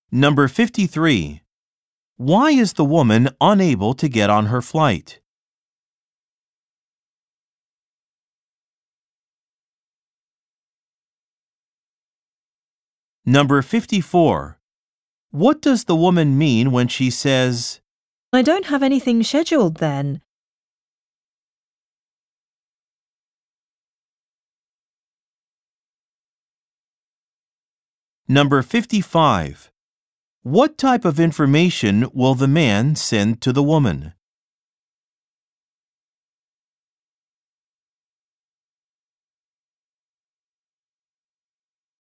Number 53. Why is the woman unable to get on her flight? Number 54. What does the woman mean when she says, I don't have anything scheduled then. Number 55. What type of information will the man send to the woman?